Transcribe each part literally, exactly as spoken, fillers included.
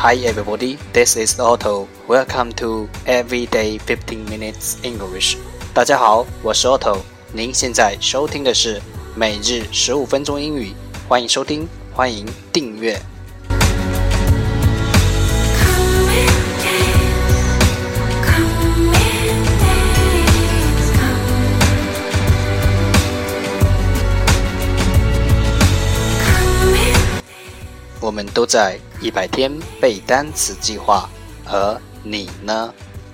Hi everybody, this is Otto. Welcome to Everyday fifteen minutes English. 大家好，我是 Otto。您现在收听的是每日十五分钟英语，欢迎收听，欢迎订阅。我们都在一百天背单词计划，而你呢？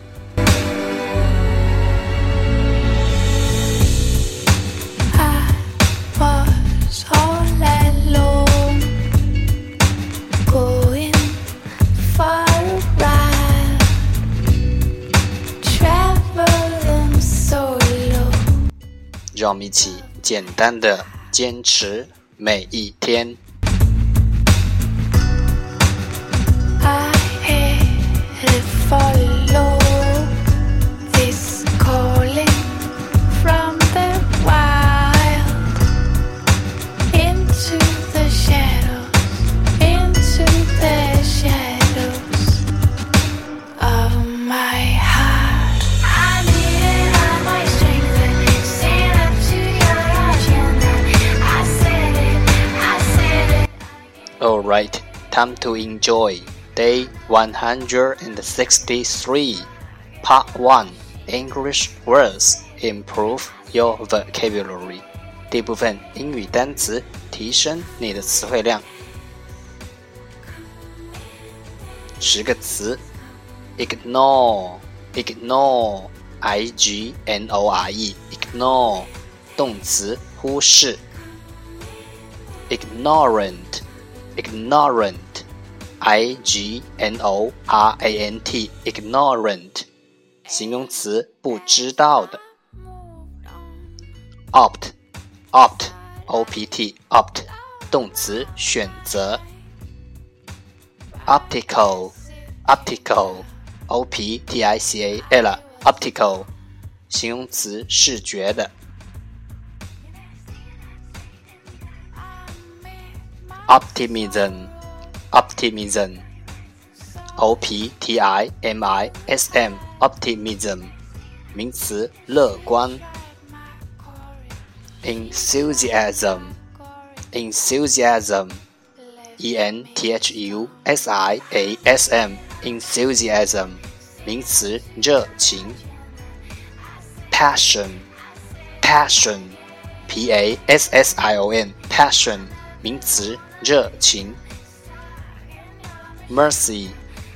让我们一起简单的坚持每一天。 Follow this calling from the wild into the shadows, into the shadows of my heart. I needed all my strength to stand up to your agenda. I said it, I said it. Alright, time to enjoy. Day one hundred sixty-three, Part one, English words, improve your vocabulary. 第一部分英语单词，提升你的词汇量。十个词 Ignore, ignore, I G N O R E, ignore, 动词，忽视。Ignorant, ignorant,I G N O R A N T, ignorant, 形容词，不知道的。Opt, opt, O P T, opt, 动词，选择。Optical, optical, O P T I C A L, optical, 形容词，视觉的。Optimism,Optimism, O P T I M I S M, optimism, 名词，乐观。Enthusiasm, enthusiasm, E N T H U S I A S M, enthusiasm, 名词，热情。Passion, passion, P A S S I O N, passion, 名词，热情。Mercy,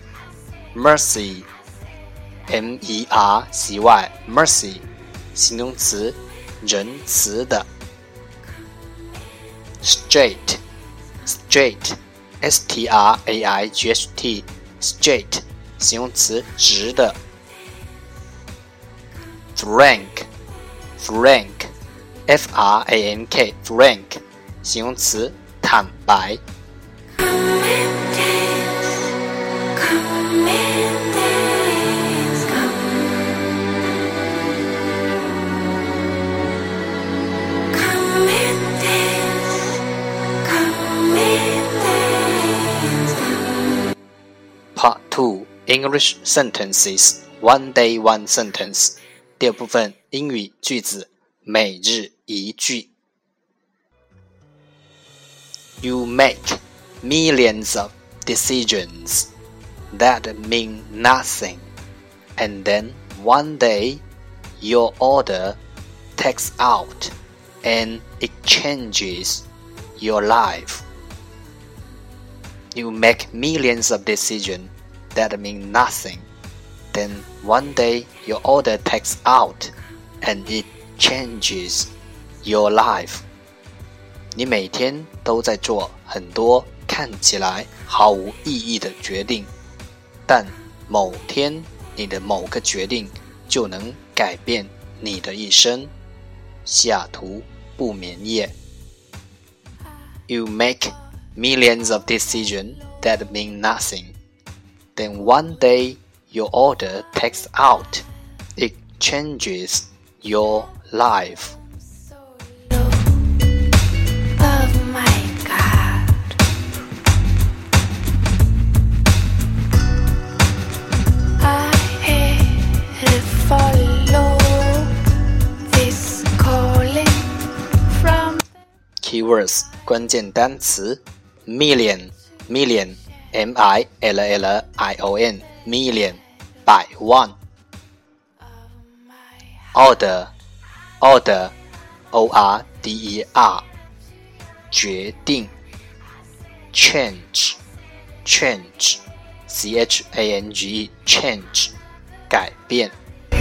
mercy, M E R C Y, mercy, 形容词，仁慈的。Straight, straight, S T R A I G H T, straight, 形容词，直的。Frank, frank, F R A N K, frank, 形容词，坦白。Part two, English sentences, one day one sentence. 第二部分英语句子，每日一句。You make millions of decisions that mean nothing, and then one day your order takes out and it changes your life. You make millions of decisions that mean nothing, then one day your order takes out and it changes your life. 你每天都在做很多看起来毫无意义的决定，但某天你的某个决定就能改变你的一生。西雅图不眠夜。You make millions of decisions that mean nothing. Then one day your order takes out. It changes your life. Keywords 关键单词 Million Million M I L L I O N Million 百万 Order Order O R D E R 决定 Change Change C H A N G E Change 改变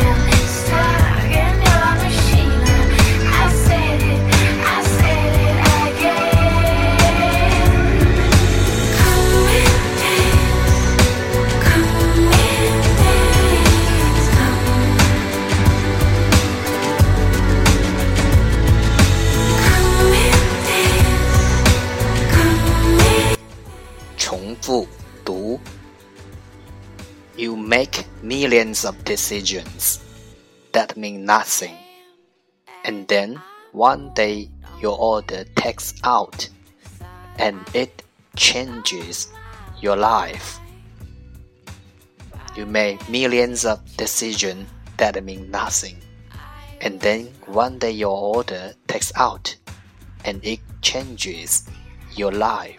重复读 You make millions of decisions that mean nothing, and then one day your order takes out, and it changes your life. You make millions of decisions that mean nothing, and then one day your order takes out, and it changes your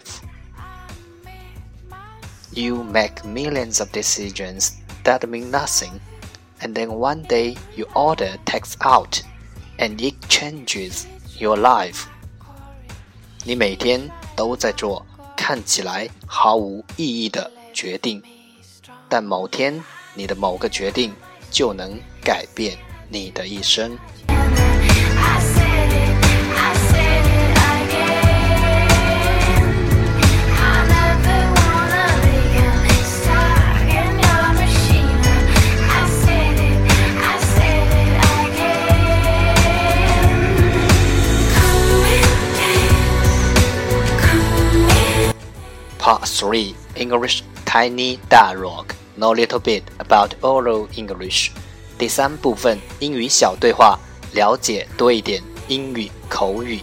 life.You make millions of decisions that mean nothing, and then one day your order takes out, and it changes your life. 你每天都在做看起来毫无意义的决定，但某天你的某个决定就能改变你的一生。Part three English Tiny Dialogue Know a little bit about oral English 第三部分英语小对话了解多一点英语口语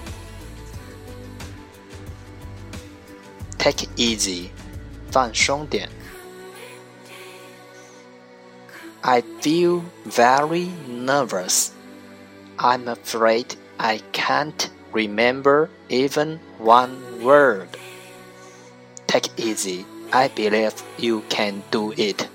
Take it easy 放松点 I feel very nervous I'm afraid I can't remember even one word.Take it easy. I believe you can do it.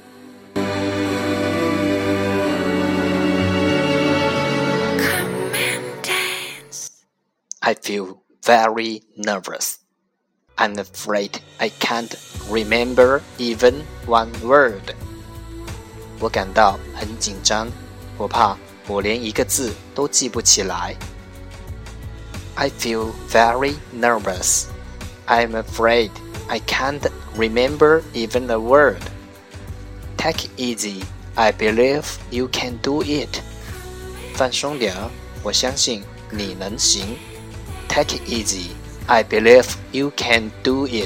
Come and dance. I feel very nervous. I'm afraid I can't remember even one word. 我感到很紧张，我怕我连一个字都记不起来。I feel very nervous. I'm afraid.I can't remember even a word. Take it easy. I believe you can do it. 放松点，我相信你能行。Take it easy. I believe you can do it.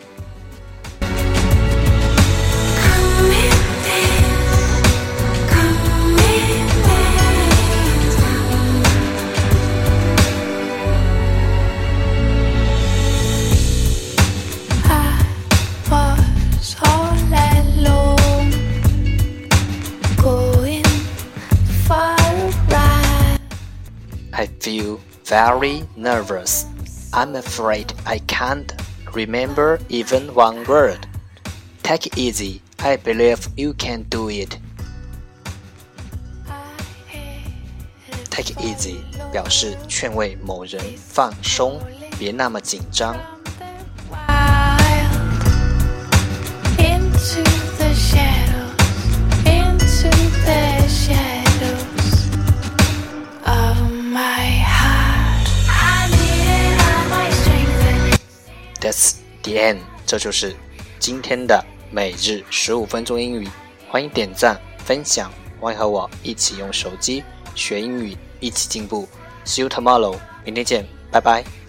I feel very nervous. I'm afraid I can't remember even one word. Take it easy. I believe you can do it. Take it easy 表示劝慰某人放松，别那么紧张。 Into the shadows, into the shadows of my heart. I needed all my strength. That's the end. 这就是今天的每日十五分钟英语。欢迎点赞、分享，欢迎和我一起用手机学英语，一起进步。See you tomorrow. 明天见，拜拜。